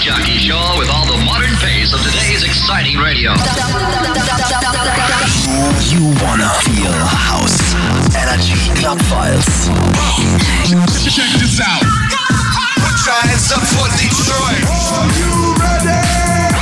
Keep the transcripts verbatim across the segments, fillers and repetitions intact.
jockey show with all the modern pace of today's exciting radio. You wanna feel house. Energy Club Files. Check this out. Put your hands up for Detroit. Are you ready?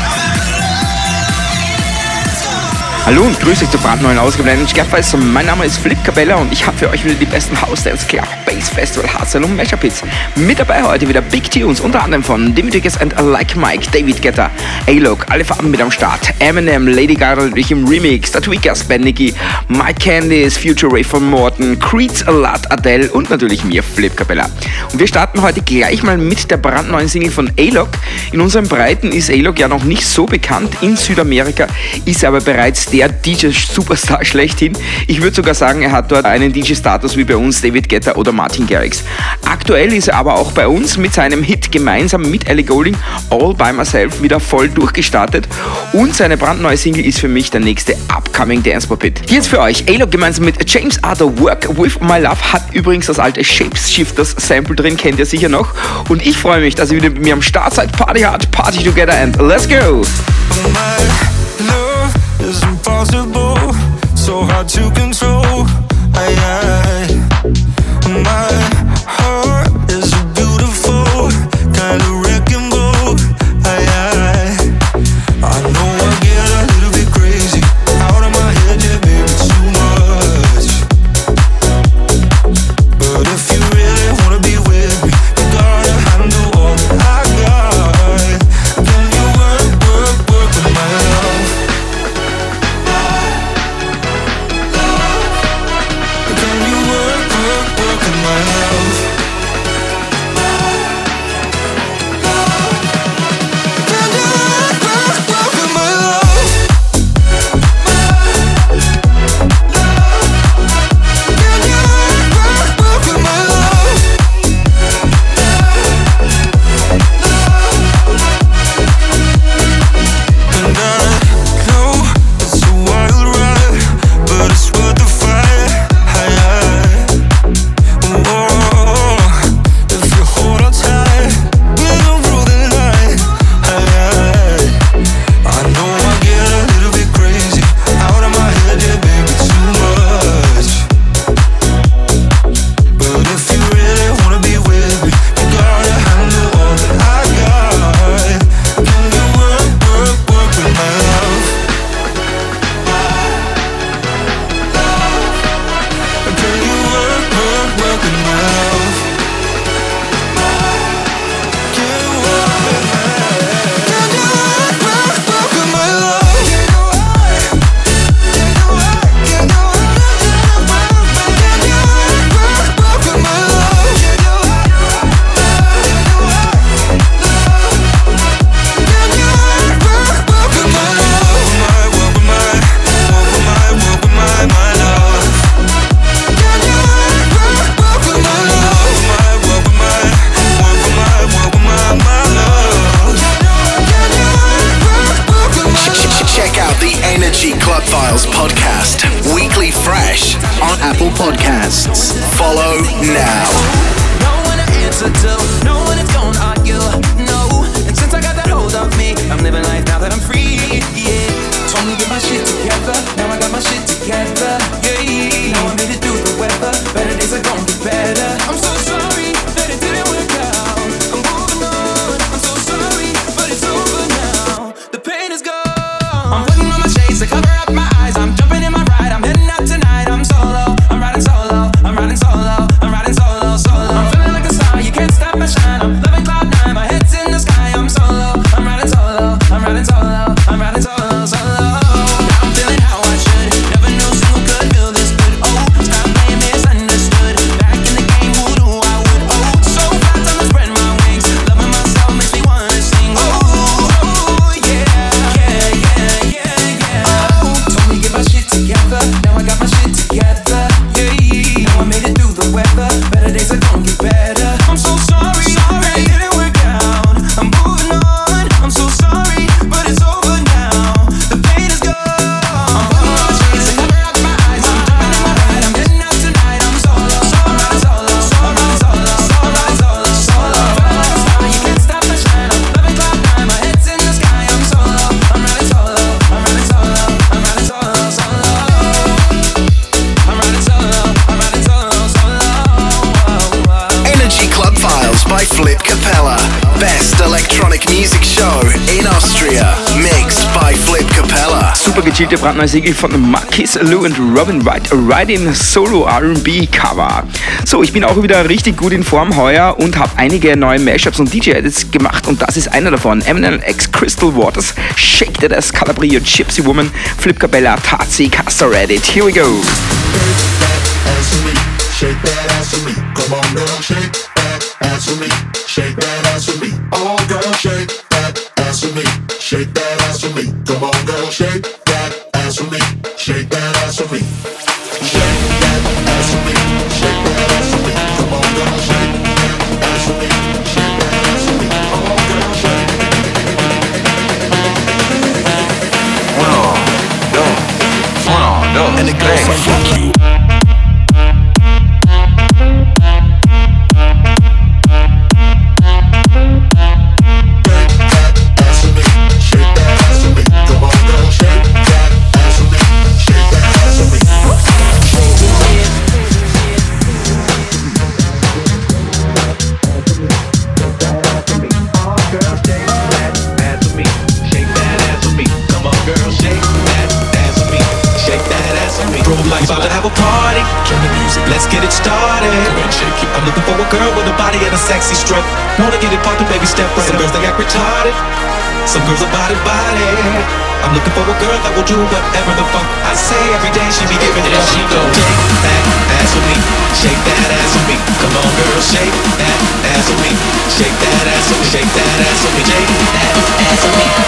Hallo und grüße euch zur brandneuen Ausgabe der Scaffies. Mein Name ist Flip Cabella und ich habe für euch wieder die besten House Dance Club, Bass Festival, Hardstyle und Mashup Hits. Mit dabei heute wieder Big Tunes, unter anderem von Dimitris and Like Mike, David Guetta, A-Log, alle Farben mit am Start, Eminem, Lady Gaga natürlich im Remix, The Tweakers, Ben Nicky, Mike Candice, Future Ray von Morton, Creed's A Lot, Adele und natürlich mir, Flip Cabella. Und wir starten heute gleich mal mit der brandneuen Single von A-Log. In unseren Breiten ist A-Log ja noch nicht so bekannt, in Südamerika ist er aber bereits der D J-Superstar schlechthin. Ich würde sogar sagen, er hat dort einen D J-Status wie bei uns David Guetta oder Martin Garrix. Aktuell ist er aber auch bei uns mit seinem Hit gemeinsam mit Ellie Goulding All By Myself wieder voll durchgestartet und seine brandneue Single ist für mich der nächste Upcoming Dance Pop Hit. Hier jetzt für euch A-Log gemeinsam mit James Arthur Work With My Love, hat übrigens das alte Shapeshifters Sample drin, kennt ihr sicher noch, und ich freue mich, dass ihr wieder mit mir am Start seid. Party hard, party together and let's go! It's impossible, so hard to control. I, I, my heart is a beautiful kind of wrecking ball. I, I, I know I get a little bit crazy, out of my head, yeah, baby, too much. But if you really wanna be with me, you gotta handle all that I got. Can you work, work, work with my love? Can't stop. by Flip Capella. Best electronic music show in Austria. Mixed by Flip Capella. Super gechillte brandneue Single von Marquis Lou und Robin Wright, Riding Solo R and B Cover. So, ich bin auch wieder richtig gut in Form heuer und habe einige neue Mashups und D J-Edits gemacht und das ist einer davon. Eminem X Crystal Waters, Shake That Ass, Calabria, Gypsy Woman, Flip Capella, Tazi, Castor Edit. Here we go. Shake that ass for me, come on girl, shake that ass for me, shake that ass for me, oh girl, shake that ass for me, shake that ass for me, come on girl, shake that ass for me, shake that ass for me, shake that ass for me, shake that ass for me, come on girl, shake that ass for me, shake that ass for me, oh girl, shake. Uno, dos, uno, dos, And it goes tres. like fuck you. About to have a party, turn the music, let's get it started. I'm looking for a girl with a body and a sexy strut. Wanna get it poppin', baby, step right. Some girls they act retarded, some girls are body body. I'm looking for a girl that will do whatever the fuck I say. Every day she be giving it up. She go shake that ass with me, shake that ass with me. Come on, girl, shake that ass with me, shake that ass with me, shake that ass with me, shake that ass with me.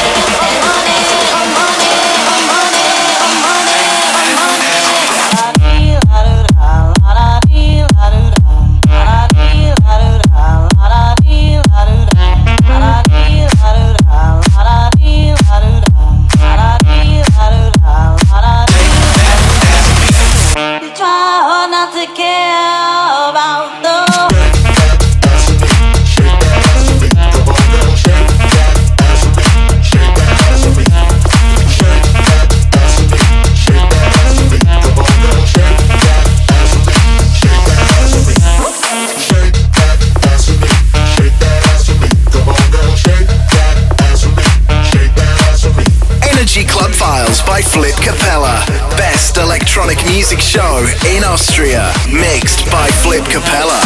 Club Files by Flip Capella. Best electronic music show in Austria. Mixed by Flip Capella.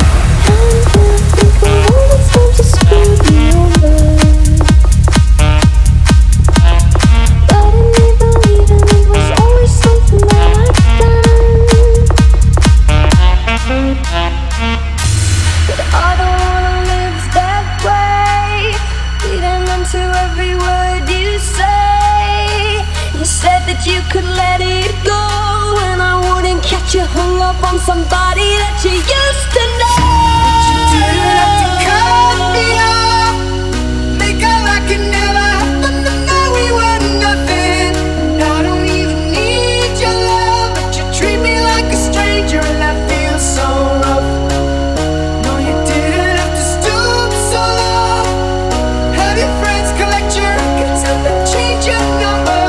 You could let it go, and I wouldn't catch you hung up on somebody that you used to know. But you didn't have to cut me off, make out like it never happened, and now we were nothing. And I don't even need your love, but you treat me like a stranger, and that feels so rough. No, you didn't have to stoop so low, have your friends collect your records and then change your number.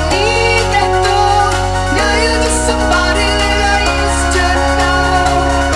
Somebody that I used to know.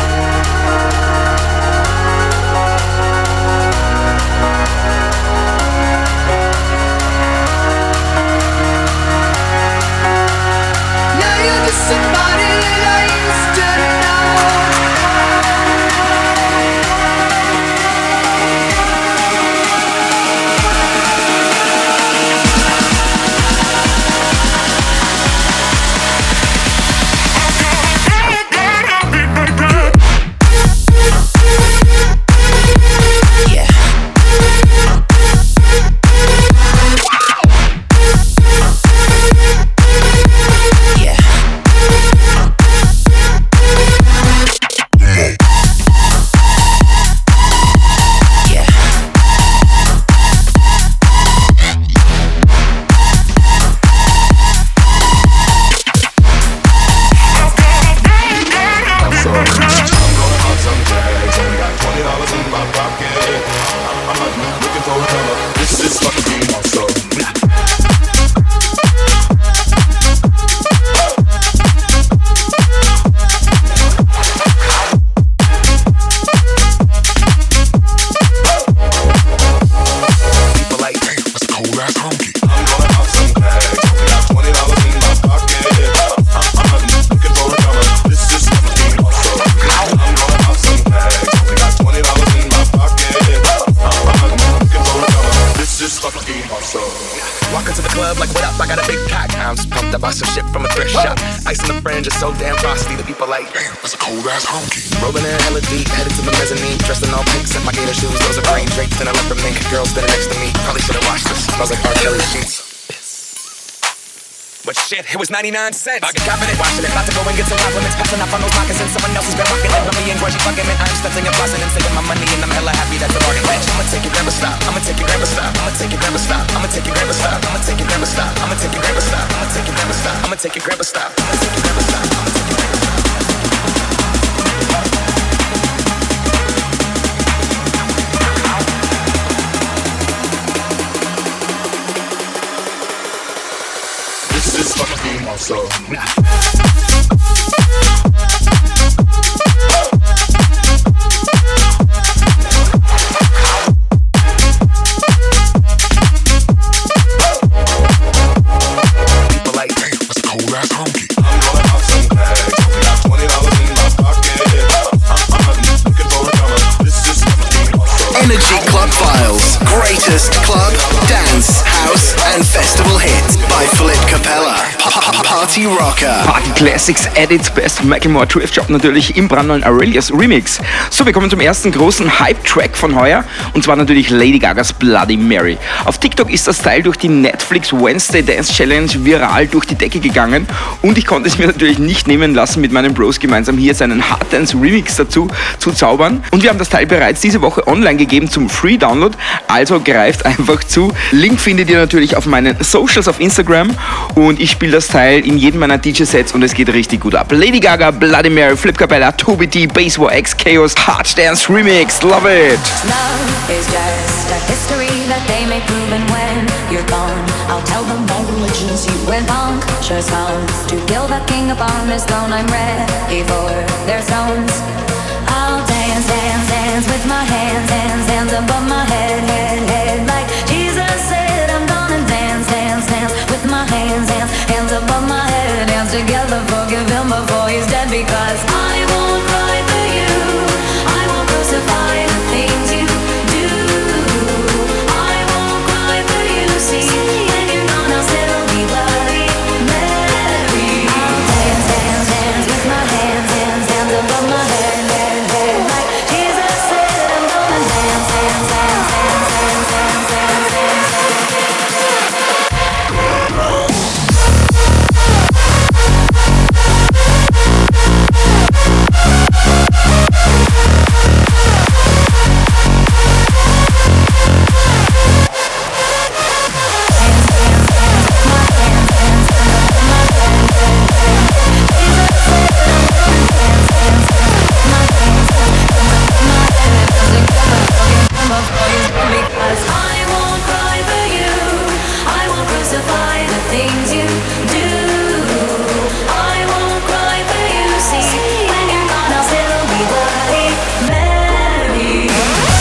I bought some shit from a thrift shop. Ice on the fringe is so damn frosty. The people like, damn, that's a cold ass honky. Rolling in hella deep, headed to the mezzanine. Dressed in all pink, set my gator shoes. Those are green draped in a leopard mink. Girl standing next to me, probably should've watched this. Smells like R. Kelly sheets. But shit, it was ninety-nine cents. I get confident watching it. About to go and get some compliments. Passing up on those moccasins. Someone else has been rocking it. Rummy and grudgy fucking it. I'm stunting and flossing and saving my money. And I'm hella happy that's a bargain. Bitch, I'ma take your grandma stop. I'ma take your grandma stop. I'ma take your grandma stop. I'ma take your grandma stop. I'ma take your grandma stop. I'ma take your grandma stop. I'ma take your grandma stop. I'ma take your grandma stop. I'ma take your grandma stop. I'ma take your grandma stop. This is fucking awesome. People like, damn, that's a cold ass honky. I'm gonna pop some bags. Only got twenty dollars in my pocket. I'm, I'm looking for a comma. This is fucking awesome. Energy Club Files. Greatest club, dance, house and festival hits by Flip Capella. Party Rocker. Party Classics at its best. Macklemore Thrift Shop natürlich im brandneuen Aurelius Remix. So, wir kommen zum ersten großen Hype-Track von heuer und zwar natürlich Lady Gagas Bloody Mary. Auf TikTok ist das Teil durch die Netflix Wednesday Dance Challenge viral durch die Decke gegangen und ich konnte es mir natürlich nicht nehmen lassen, mit meinen Bros gemeinsam hier seinen Hard Dance Remix dazu zu zaubern. Und wir haben das Teil bereits diese Woche online gegeben zum Free Download, also greift einfach zu. Link findet ihr natürlich auf meinen Socials auf Instagram und ich spiele das Teil in jedem meiner D J-Sets und es geht richtig gut ab. Lady Gaga, Bloody Mary, Flip Capella, Toby T, Bass War X, Chaos, Hard Dance Remix. Love it! Love is just a history that they may prove, and when you're gone, I'll tell them my religion's you went puncture sounds to kill the king upon his throne. I'm ready for their stones. I'll dance, dance, dance with my hands, hands, hands above my head, head, head. Like Jesus said, I'm gonna dance, dance, dance with my hands, hands, hands above my head. Dance together, forgive him before he's dead, because I won't cry for you. I won't crucify the things you do. I won't cry for you, see. When you're gone, I'll still be Bloody Mary. I'll dance, dance, dance with my hands, hands, hands above my head, head, head. Like Jesus said, I'm gonna dance, dance, dance, dance, dance, dance, dance, dance. Because I won't cry for you, I won't crucify the things you do. I won't cry for you, see. When you're gone, I'll still be Bloody Mary.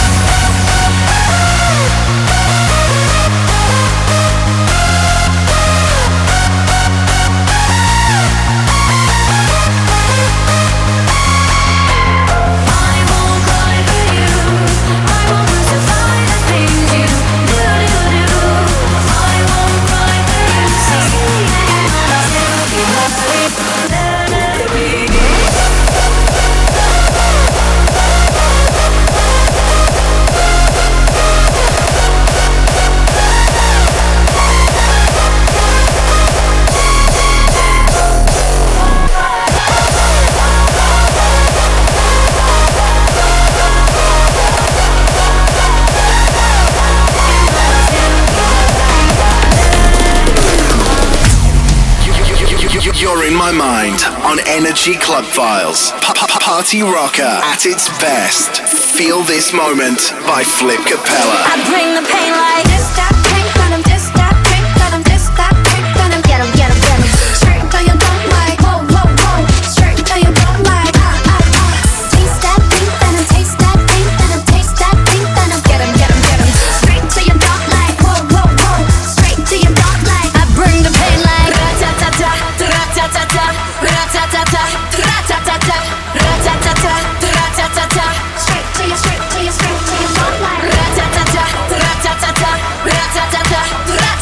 I won't cry for you, I won't crucify the things you do, do, do. I won't cry for you, see. When you're gone, I'll still be Bloody Mary. You're in my mind on Energy Club Files. Party Rocker at its best. Feel this moment by Flip Capella. I bring the pain like this, that drink, let 'em this, that drink, let 'em this, that drink, let 'em get 'em, get 'em, get 'em. Straight until you don't like, whoa, whoa, whoa. Straight until you don't like, ah, ah, ah. Taste that drink, let 'em taste that drink, let 'em taste that drink, let 'em get 'em, get 'em, get 'em. Straight until you don't like, whoa, whoa, whoa. Straight until you don't like. I bring the pain like ra-ta-ta-ta, ra-ta-ta-ta, ra-ta-ta-ta, ra-ta-ta-ta, ra-ta-ta-ta, ra-ta-ta-ta. Straight till you, straight till you, straight till you don't like. Ra-ta-ta-ta, ra-ta-ta-ta, ra-ta-ta-ta, ra-ta-ta-ta.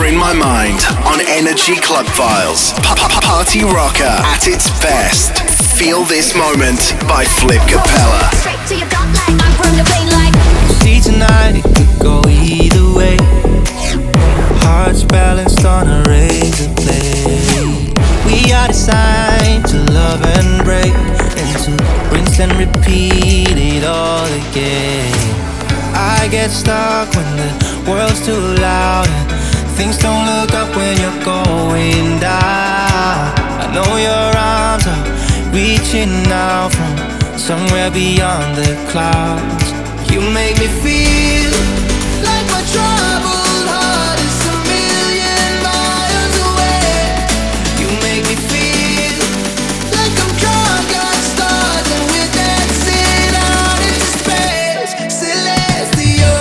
You're in my mind on Energy Club Files. Party rocker at its best. Feel this moment by Flip Capella. Straight to your gut like I'm from the plane like. See tonight it could go either way. Hearts balanced on a razor blade. We are designed to love and break, and to rinse and repeat it all again. I get stuck when the world's too loud and things don't look up when you're going down. I know your arms are reaching out from somewhere beyond the clouds. You make me feel like my troubled heart is a million miles away. You make me feel like I'm drunk on stars and we're dancing out into space. Celestial.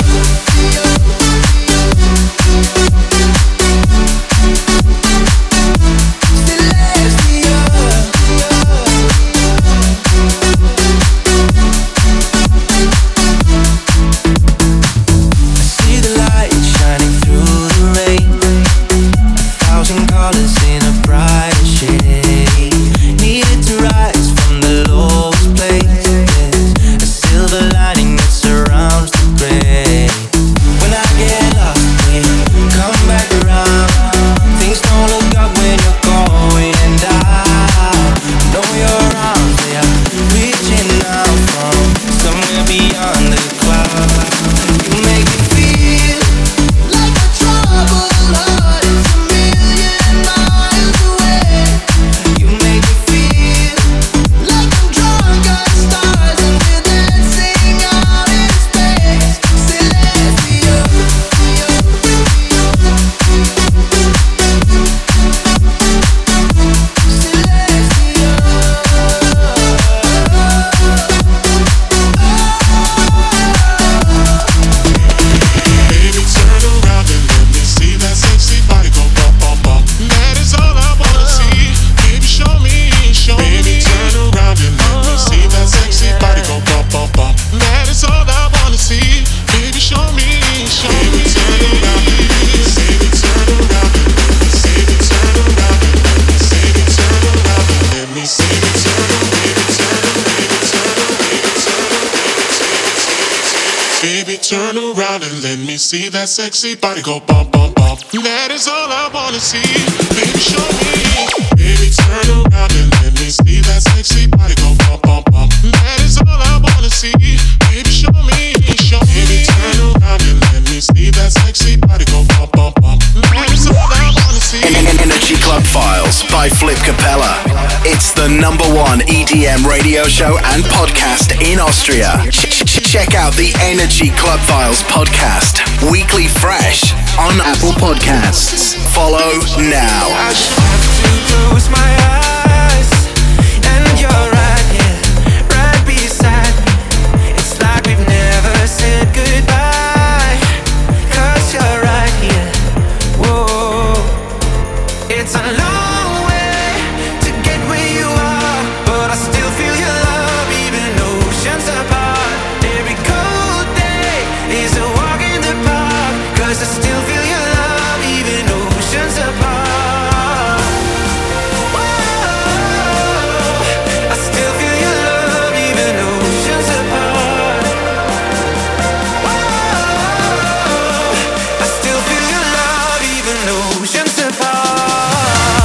See that sexy body go bump, bump, bump. That is all I wanna see. Baby, show me. Baby, turn around and let me see that sexy body go bump, bump, bump. That is all I wanna see. Baby, show me. Show me. Baby, turn around and let me see that sexy body go bump, bump, bump. That is all I wanna see. Energy Club Files by Flip Capella. It's the number one E D M radio show and podcast in Austria. Check out the Energy Club Files podcast, weekly fresh on Apple Podcasts. Follow now. I just have to close my eyes, and you're right here, right beside me. It's like we've never said goodbye, 'cause you're right here. Whoa, it's a long way to get where you are, but I still feel your love, even oceans apart. Every cold day is a walk in the park, 'cause I still feel your love, even oceans apart. Whoa, I still feel your love, even oceans apart. Whoa, I still feel your love, even oceans apart.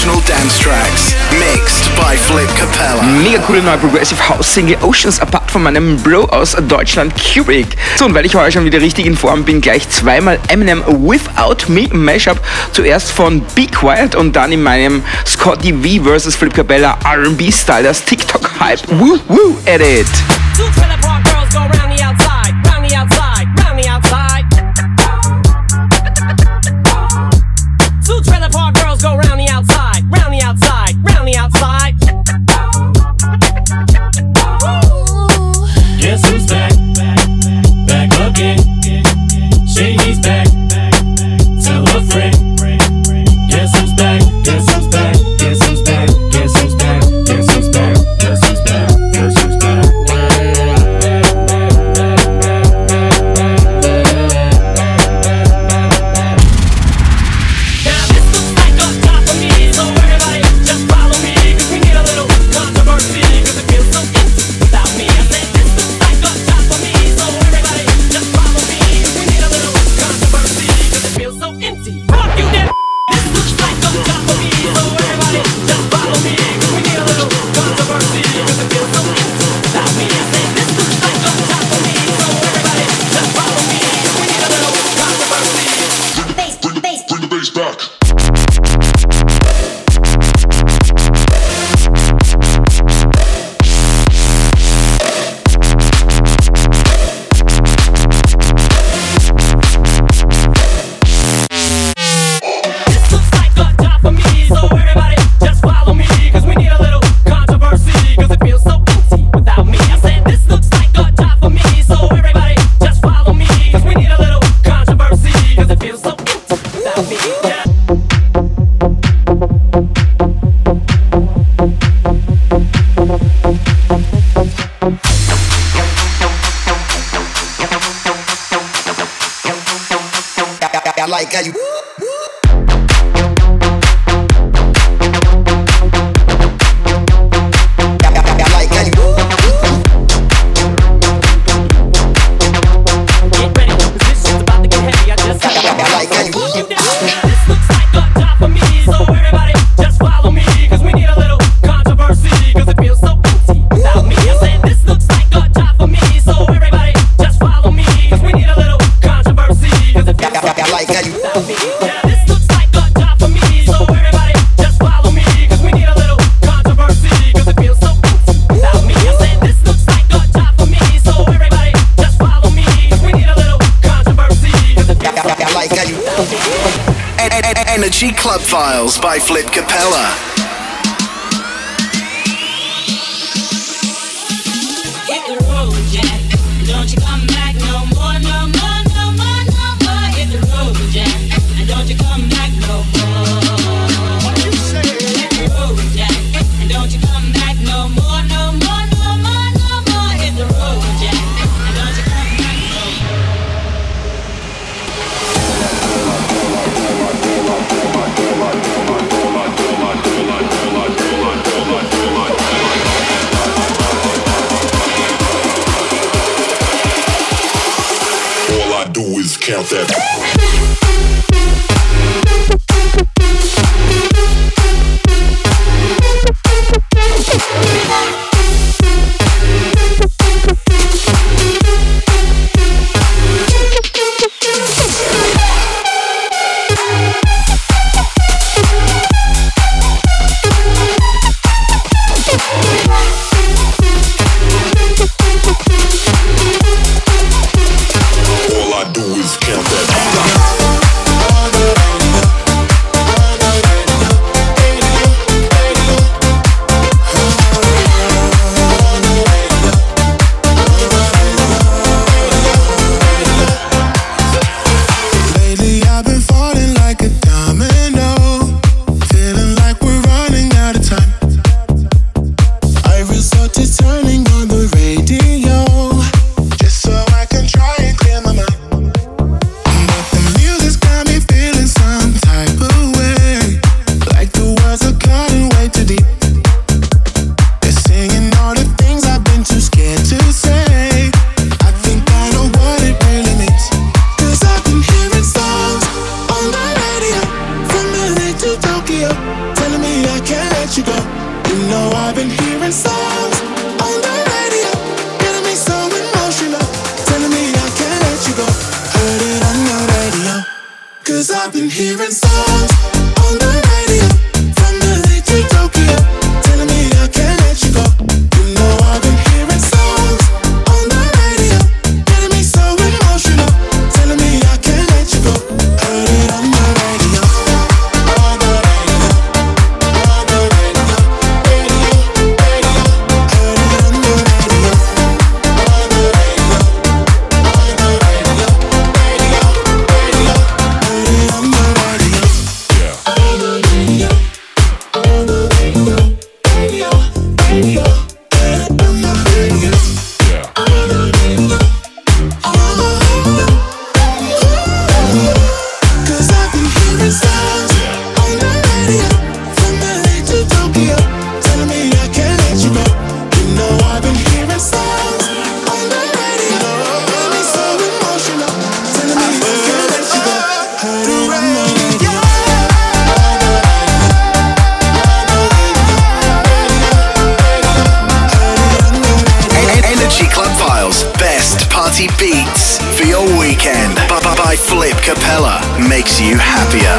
original dance tracks, mixed by Flip Capella. Mega coole neue Progressive House Single Oceans Apart von meinem Bro aus Deutschland, Cubic. So, und weil ich heute schon wieder richtig in Form bin, gleich zweimal Eminem Without Me Mashup. Zuerst von Be Quiet und dann in meinem Scotty V versus Flip Capella R and B Style, das TikTok-Hype Woo Woo Edit. Two trailer park girls go round the outside, round the outside, round the outside. Two trailer park girls go round the outside, round the outside, round the outside. Guess who's back? Back again. Shady's back. Tell a friend. Guess who's back? Guess who's back? Guess who's back? Guess who's back? Guess who's back? Guess who's back? Guess who's back? Now this looks like a top for me, so everybody just follow me, 'cause we need a little controversy, 'cause it feels so empty without me. I said this looks like a top for me, so everybody just follow me, 'cause we need a little controversy, 'cause it feels so empty. Fuck you, then. This looks like a top for me, so everybody just follow me, 'cause we need a little controversy, 'cause it feels so empty without me. I said this looks like a top for me, so everybody just follow me, 'cause we need a little controversy. Bring the bass, bring the bass, bring the bass back. This looks like a top for me, so everybody just follow me, 'cause we need a little controversy, 'cause it feels so empty without me. I said this looks like a top for me, so everybody just follow me, 'cause we need a little controversy, 'cause it feels so empty without me. Yeah. I like how you. I like how you. Get ready, 'cause this shit's about to get heavy. I just gotta I like how you. push you down. This looks like a top for me, so everybody just follow me, 'cause we need a little controversy, 'cause it feels so empty without me. I said this looks like a top for me, so everybody just follow me, 'cause we need a little controversy, 'cause it feels so I like how you. without me. Yeah, this looks like a top for me, so everybody just follow me, 'cause we need a little controversy, 'cause it feels so empty without me. I said this looks like a top for me, so everybody just follow me, 'cause we need a little controversy, 'cause it feels so I like how you. En- en- Energy Club Files by Flip Capella. Hit the road, Jack. Don't you come back no more, no more, no more, no more. Hit the road, Jack. And don't you come back no more. What you say? Hit the road, Jack. And don't you come back no more, no more, no more, no more. Hit the road, Jack. And don't you come back no more. All I do is count that. All I do is count that. radio. On the radio. On the radio. Cause I've been hearing sounds on the radio from L A to Tokyo, telling me I can't let you go. You know I've been hearing sounds on the radio, got me so emotional, telling me I can't let you go. Heard it on the radio. Energy Club Files, best party beats for your weekend. By, by Flip Capella, makes you happier.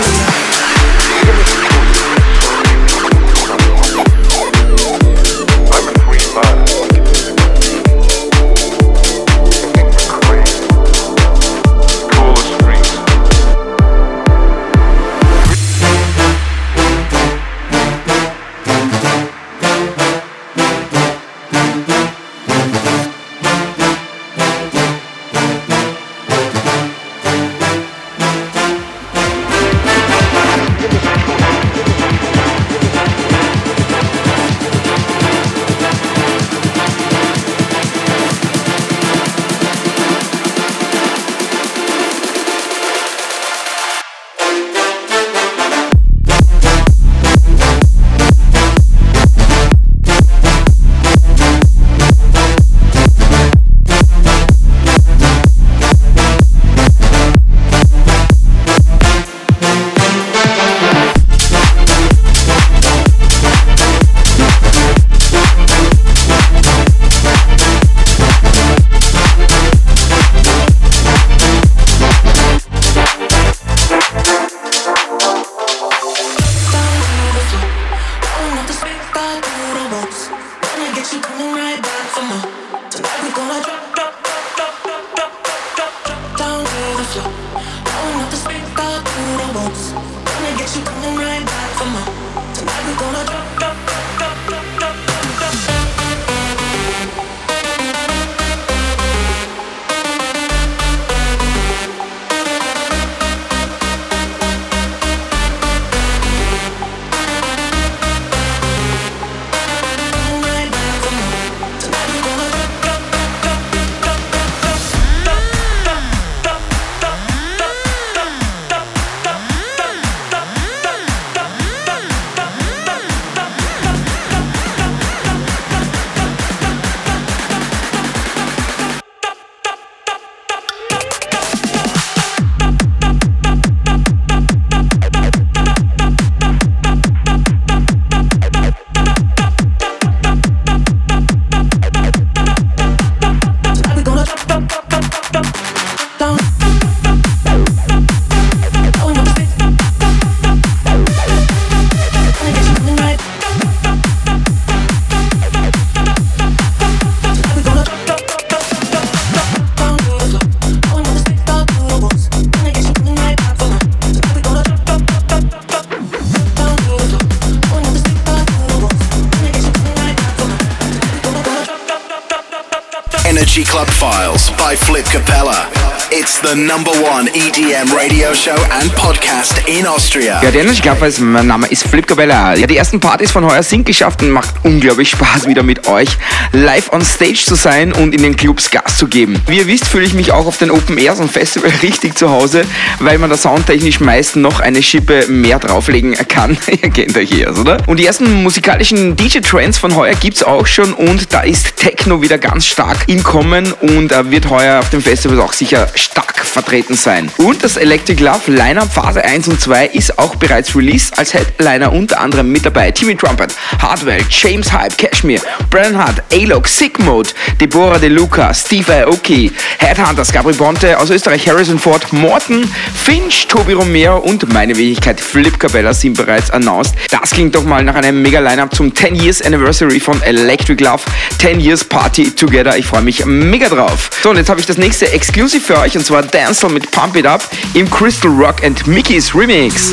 Energy Club Files by Flip Capella. It's the number one E D M radio show and podcast in Austria. Ja, die Energy Club Files, mein Name ist Flip Capella. Ja, die ersten Partys von heuer sind geschafft und macht unglaublich Spaß, wieder mit euch live on Stage zu sein und in den Clubs Gas zu geben. Wie ihr wisst, fühle ich mich auch auf den Open Airs und Festival richtig zu Hause, weil man da soundtechnisch meist noch eine Schippe mehr drauflegen kann. Ihr kennt euch hier, oder? Und die ersten musikalischen D J-Trends von heuer gibt's auch schon und da ist Techno wieder ganz stark im Kommen und äh, wird heuer auf dem Festival auch sicher stark vertreten sein. Und das Electric Love Line-Up Phase eins und zwei ist auch bereits released, als Headliner unter anderem mit dabei Timmy Trumpet, Hardwell, James Hype, Cashmere, Brennan Hart, A-Log, Sick Mode, Deborah De Luca, Steve Aoki, Headhunters, Gabri Ponte aus Österreich, Harrison Ford, Morten, Finch, Tobi Romero und meine Wenigkeit Flip Capella sind bereits announced. Das klingt doch mal nach einem mega Line-Up zum ten Years Anniversary von Electric Love, ten Years Party Together. Ich freue mich mega drauf. So, und jetzt habe ich das nächste Exclusive für euch und zwar Dancel mit Pump It Up im Crystal Rock and Mickey's Remix.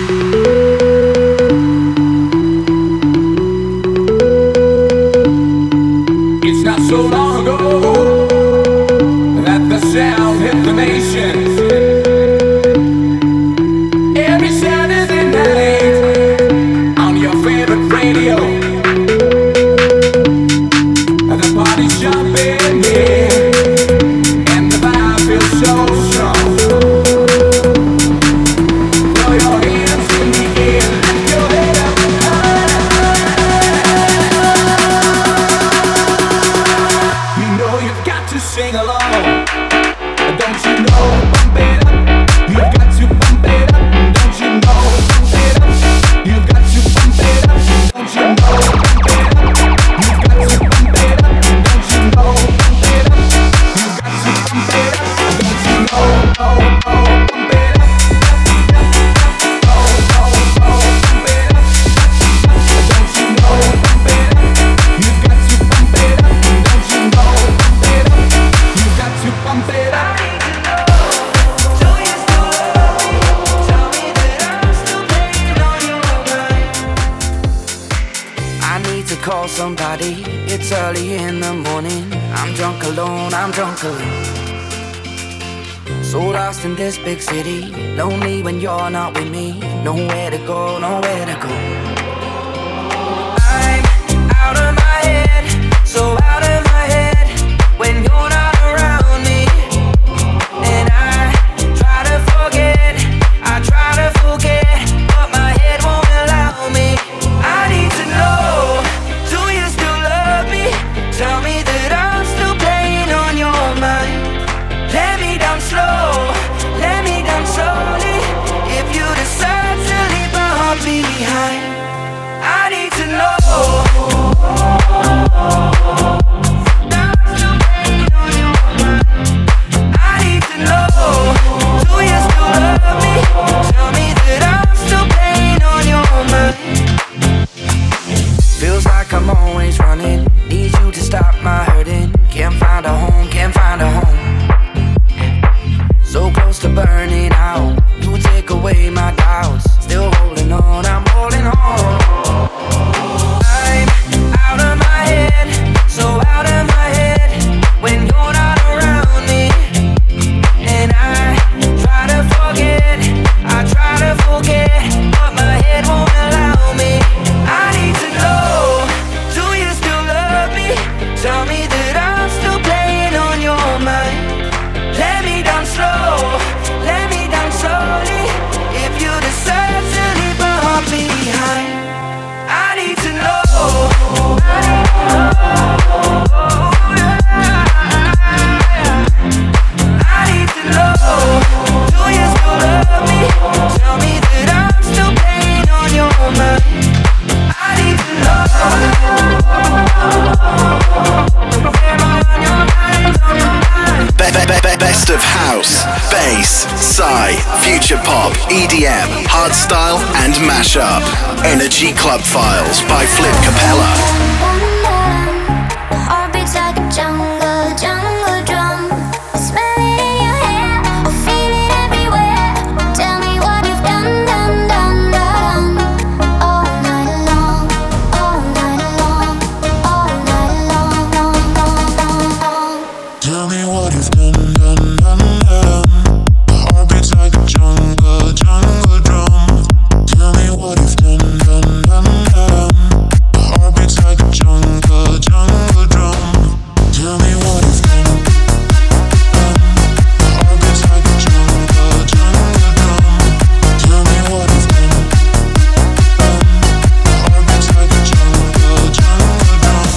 It's not so long ago that the sound hit the nation. Every Saturday night on your favorite radio. It's early in the morning. I'm drunk alone, I'm drunk alone. So lost in this big city, lonely when you're not with me. Nowhere to go, nowhere to go. I'm out of my head, so out of my head when you're not around me. And I try to forget, I try to forget, but my head won't allow me. I need to know, do you still love me? Tell me that I'm still playing on your mind. Let me down slow, let me down slowly. If you decide to leave my heart behind, I need to know. I need to know, do you still love me? Tell me that I'm still playing on your mind. Feels like I'm always running, need you to stop my hurting. Can't find a home, can't find a home. So close to burning out, you take away my doubts. Still holding on, I'm holding on. I'm out of my head, so out of my head when you're not around me. And I try to forget, I try to forget, but my head won't allow me. I need to know, do you still love me? Tell me that I'm still playing on your mind. Let me down slow, let me down slowly. If you decide to leave my heart behind, I need to know. I need to know. I need to know. Do you still love me? Tell me that I'm still playing on your mind. I need to know. Am I on your mind? On your mind? Be- be- be- best of house, bass, psy, future pop, E D M, hardstyle, and mashup. Energy Club Files by Flip Capella. Heartbeats like a jungle, jungle drum. I smell it in your hair, I feel it everywhere. Tell me what you've done, done, done, done. All night long, all night long, all night long, long, long, long, long. Tell me what you've done, done, done, done. Heartbeats like a jungle, jungle drum. Tell me what you've done, done, done, done. Heartbeats like a jungle, jungle drum. Tell me what you've done, done. Heartbeats like a jungle, jungle drum. Tell me what you've done, done. Heartbeats like a jungle, jungle drum.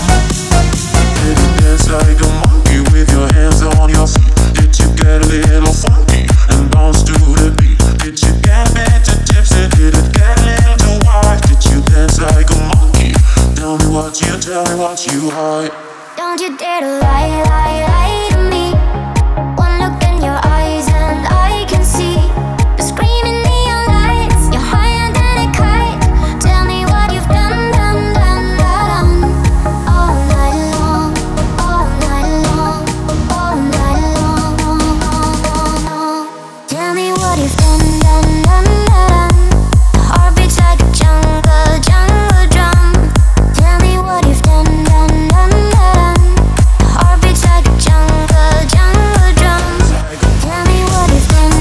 Did you dance like a monkey with your hands on your feet? Did you get a little funky and bounce to the beat? Did you get a bit too tipsy? Did it get a little too wild? Did you dance like a monkey? Tell me what you, tell me what you hide. Don't you dare to lie, lie, lie to me. One look in your eyes and I can see the screaming neon lights. You're higher than a kite. Tell me what you've done, done, done, done. All night long, all night long, all night long, long, long, long, long. Tell me what you've done, done, done, done. Heartbeats like a jungle, jungle drum. Tell me what you've done, done, done, done. Heartbeats like a jungle, jungle drum. Tell me what you've done.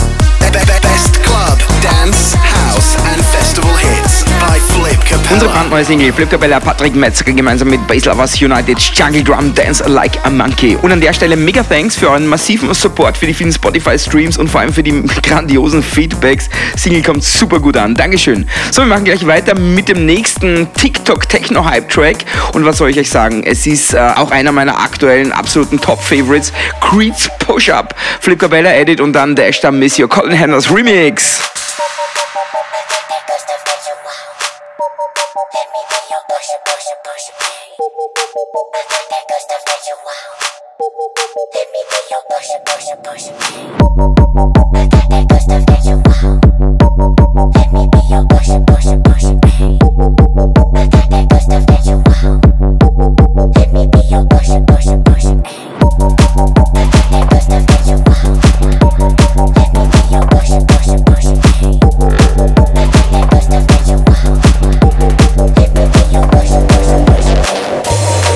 Best club, dance, house and festival hits by Flip Unsere Capella. brandneue Single Flip Capella, Patrick Metzger gemeinsam mit Bass Lovers United, Jungle Drum, Dance Like a Monkey. Und an der Stelle mega thanks für euren massiven Support, für die vielen Spotify-Streams und vor allem für die grandiosen Feedbacks. Single kommt super gut an. Dankeschön. So, wir machen gleich weiter mit dem nächsten TikTok-Techno-Hype-Track. Und was soll ich euch sagen? Es ist äh, auch einer meiner aktuellen absoluten Top-Favorites, Creed's Push-Up. Flip Capella Edit und dann der Ashton Missio Colin Henderson Remix. Push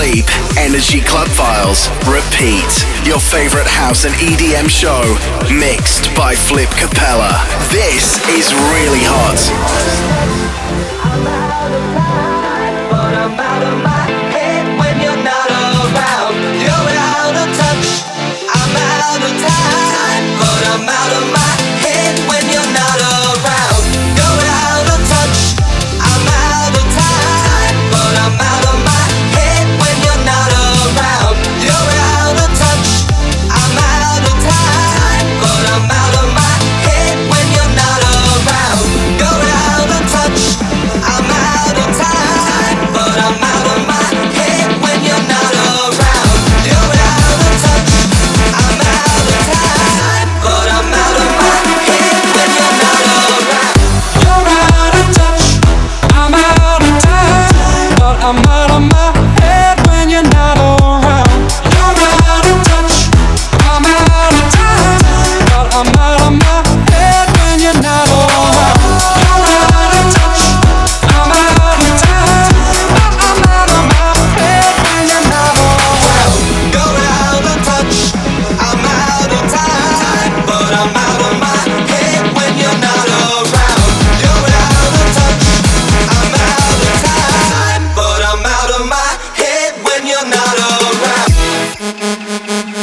sleep. Energy Club Files. Repeat. Your favorite house and E D M show. Mixed by Flip Capella. This is really hot. I'm out of time, but I'm out of my head when you're not around. You're out of touch. I'm out of time, but I'm out of my head when you're not around. You're out of touch. I'm out of time, but I'm out of my head when you're not around. You're out of touch. I'm out of time, but I'm out of my head when you're not around. You're out of touch. I'm out of time, but I'm out of my head when you're not around. You're out of touch. I'm out of time, but I'm out of my head when you're not around. You're out of touch. I'm out of time, but I'm out of my head when you're not around. You're out of touch. I'm out of time, but I'm out of my head when you're not around. You're out of touch. I'm out of time, but I'm out of my head when you're not around. You're out of touch. I'm out of time, but I'm out of my head when you're not around. You're out of touch. I'm out of time, but I'm out of my head when you're not around.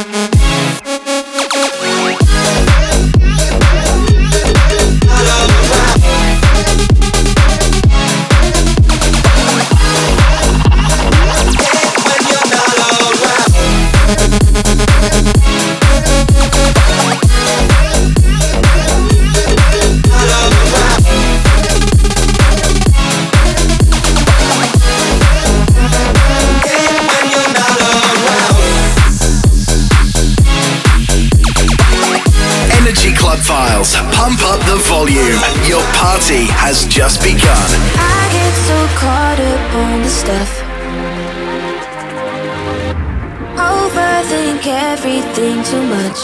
Energy Club Files. Pump up the volume. Your party has just begun. I get so caught up on the stuff. Overthink everything too much.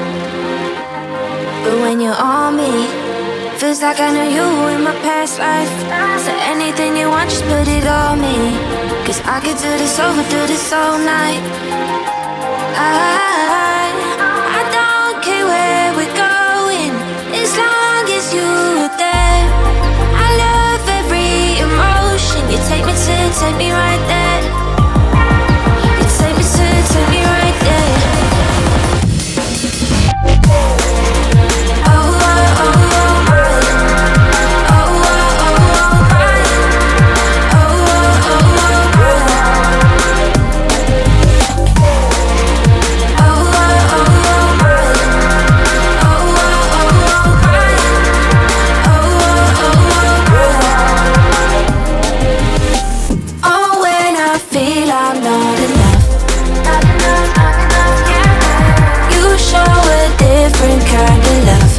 But when you're on me, feels like I know you in my past life. So anything you want, just put it on me. Cause I could do this over, do this all night. I, I don't care where we're going, as long as you're there. I love every emotion. You take me to, take me right there. You take me to, take me right there. Oh, oh, oh, oh, my. Oh, oh, oh, oh, my. Oh, oh, oh, oh, my. Oh, oh, oh, oh, my. Oh, oh, oh, oh, my. Oh, oh, oh, oh, my. Oh, when I feel I'm not enough. Not enough, not enough, yeah. You show a different kind of love.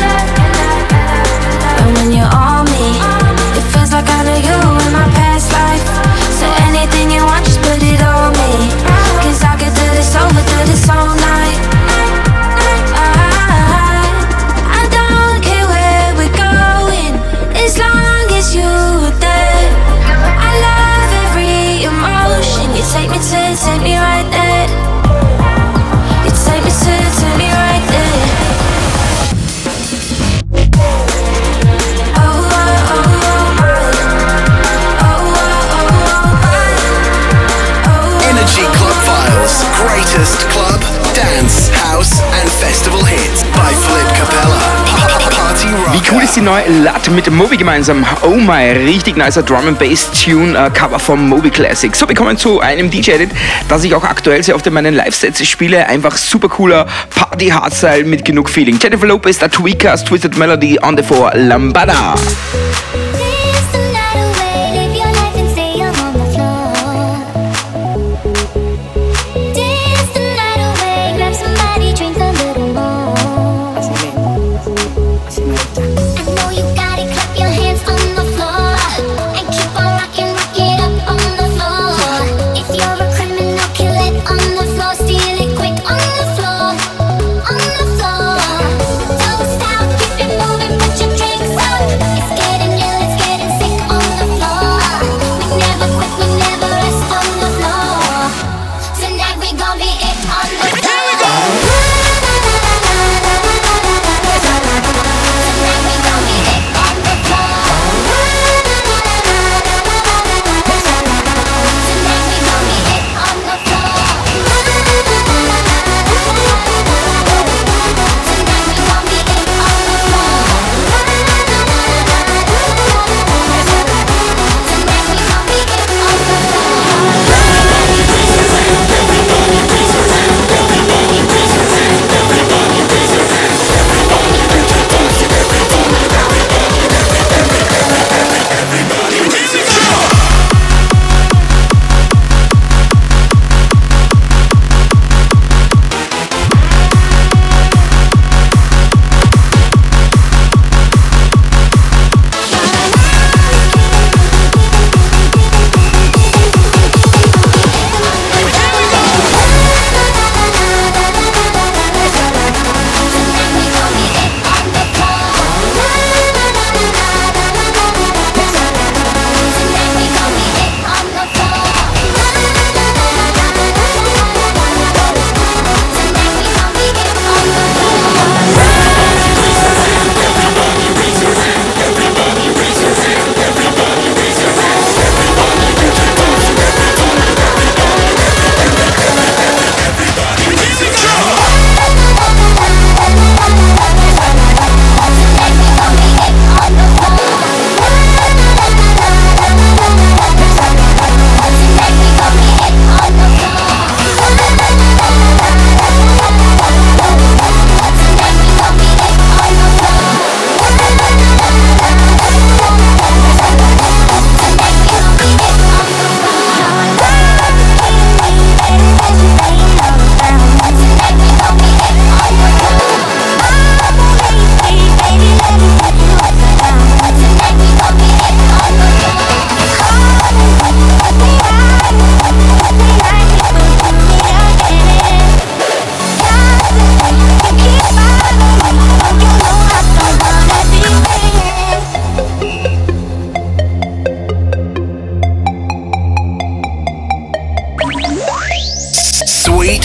And when you're on me, it feels like I know you in my past life. So anything you want, just put it on me. Cause I could do this over, do this all night. I, I don't care where we're going, as long as you're there. I love every emotion. You take me to, take me right there. You take me to, take me right there. Oh, oh, oh, oh, my. Oh, oh, oh, oh, my. Oh, Energy Club Files. Greatest club, dance, house and festival hits by Flip Capella. Pa- Party Wie cool Rocker. ist die neue Latte mit Moby gemeinsam? Oh my, richtig nicer Drum and Bass Tune äh, Cover vom Moby Classic. So, wir kommen zu einem D J-Edit, das ich auch aktuell sehr oft in meinen Live-Sets spiele. Einfach super cooler Party-Hardstyle mit genug Feeling. Jennifer Lopez, The Tweakers, Twisted Melody on the four, Lambada. Dance the night away, live your life and stay on the floor. Dance the night away, grab somebody, drink a little more. I know you got it, clap your hands on the floor and keep on rocking, rock it up on the floor. If you're a criminal, kill it on the floor, steal it quick on the floor, on the floor. Don't stop, keep it moving, put your drinks up. It's getting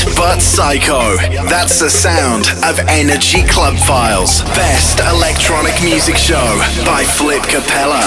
Sweet but psycho. That's the sound of Energy Club Files. Best electronic music show by Flip Capella.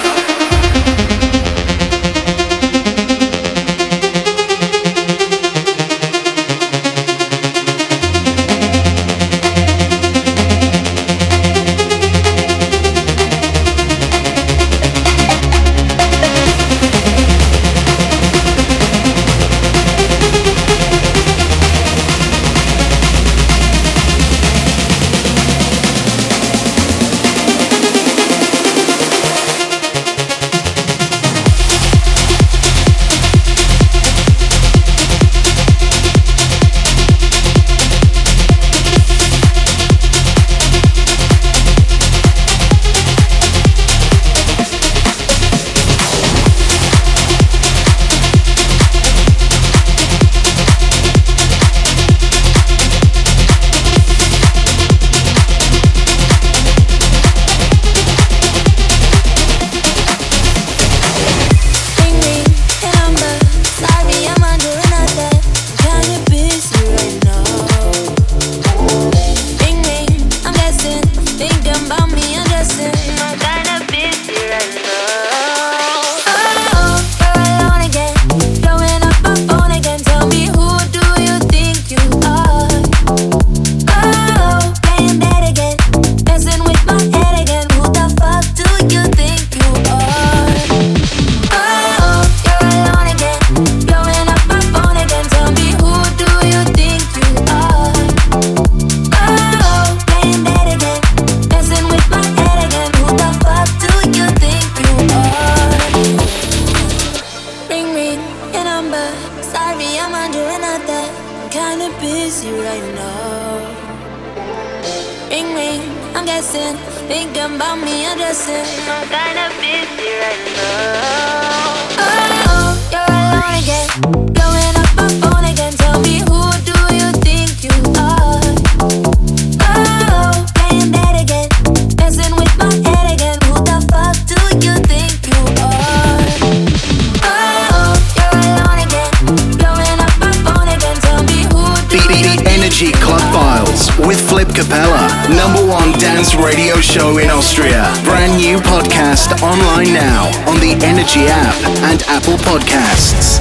Online now on the Energy app and Apple Podcasts.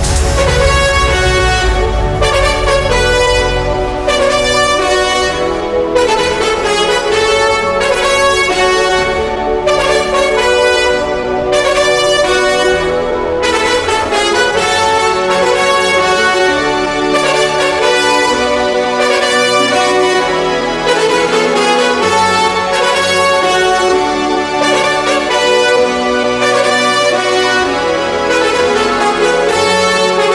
Thank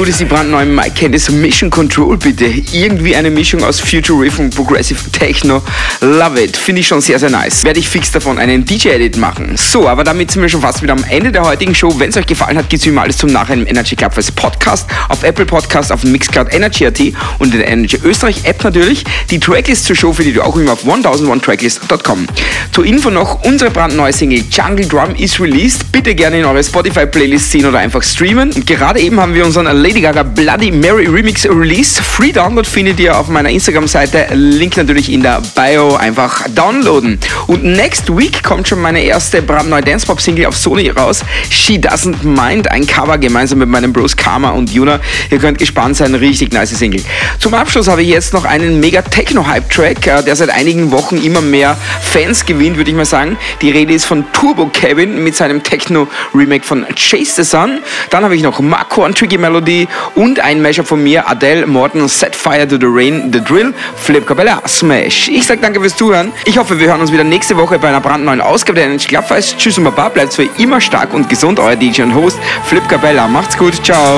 gut ist die brandneue Mike Candice Mission Control bitte? Irgendwie eine Mischung aus Future Riff und Progressive Techno. Love it. Finde ich schon sehr, sehr nice. Werde ich fix davon einen D J-Edit machen. So, aber damit sind wir schon fast wieder am Ende der heutigen Show. Wenn es euch gefallen hat, gibt es wie immer alles zum Nachhinein im Energy Club als Podcast, auf Apple Podcast, auf Mixcloud Energy Punkt at und in der Energy Österreich App natürlich. Die Tracklist zur Show findet ihr auch immer auf tausendundeins tracklist punkt com. Zur Info noch, unsere brandneue Single Jungle Drum ist released. Bitte gerne in eure Spotify-Playlist ziehen oder einfach streamen. Und gerade eben haben wir unseren Lady Gaga Bloody Mary Remix released. Free Download findet ihr auf meiner Instagram-Seite. Link natürlich in der Bio. Einfach downloaden. Und next week kommt schon meine erste brandneue Dance-Pop-Single auf Sony raus. She Doesn't Mind. Ein Cover gemeinsam mit meinen Bros Karma und Yuna. Ihr könnt gespannt sein. Richtig nice Single. Zum Abschluss habe ich jetzt noch einen mega Techno-Hype-Track, der seit einigen Wochen immer mehr Fans gewinnt, würde ich mal sagen. Die Rede ist von Turbo Kevin mit seinem Techno-Remake von Chase the Sun. Dann habe ich noch Marco und Tricky Melody und ein Mashup von mir, Adele, Morton, Set Fire to the Rain, The Drill, Flip Capella, Smash. Ich sage danke fürs Zuhören. Ich hoffe, wir hören uns wieder nächste Woche bei einer brandneuen Ausgabe der Energy Club Files. Tschüss und Baba, bleibt für immer stark und gesund. Euer D J und Host Flip Capella. Macht's gut, ciao.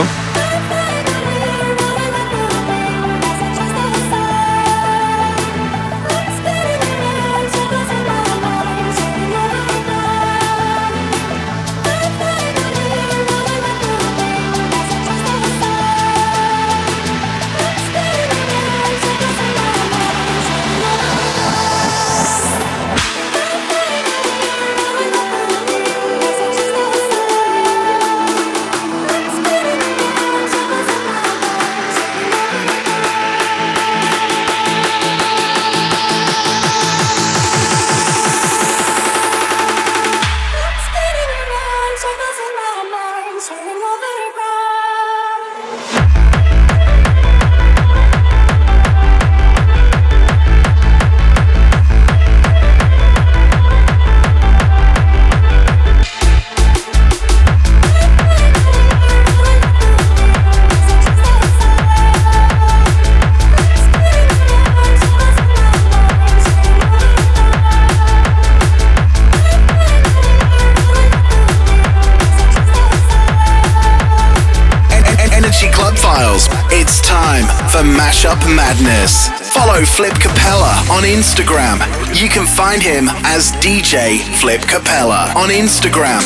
It's time for Mashup Madness. Follow Flip Capella on Instagram. You can find him as D J Flip Capella on Instagram.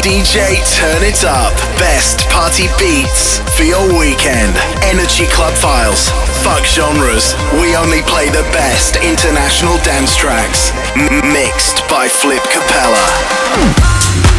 D J Turn It Up. Best party beats for your weekend. Energy Club Files. Fuck genres. We only play the best international dance tracks. M- mixed by Flip Capella.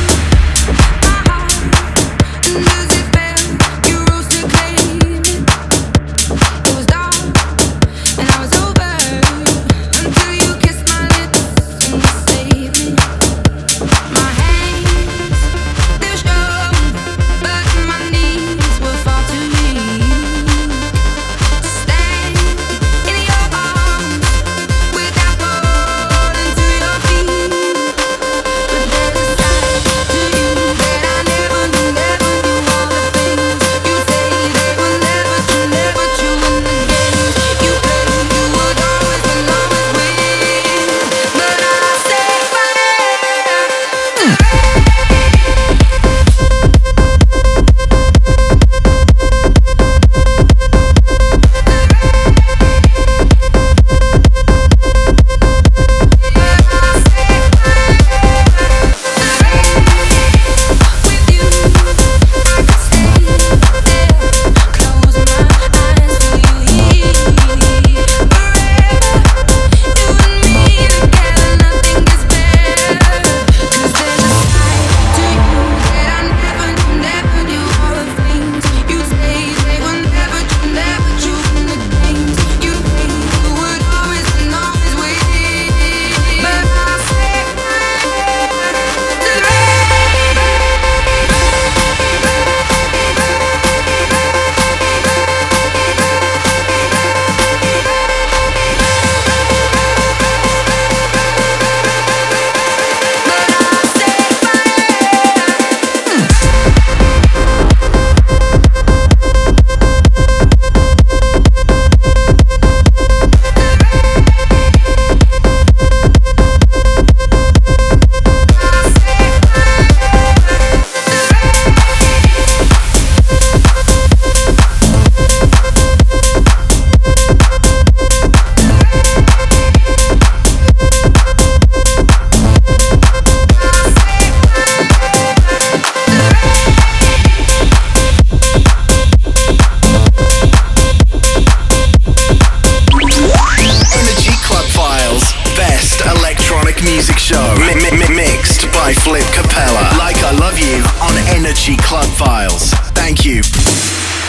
Music show mi- mi- mixed by Flip Capella. Like I Love You on Energy Club Files. Thank you.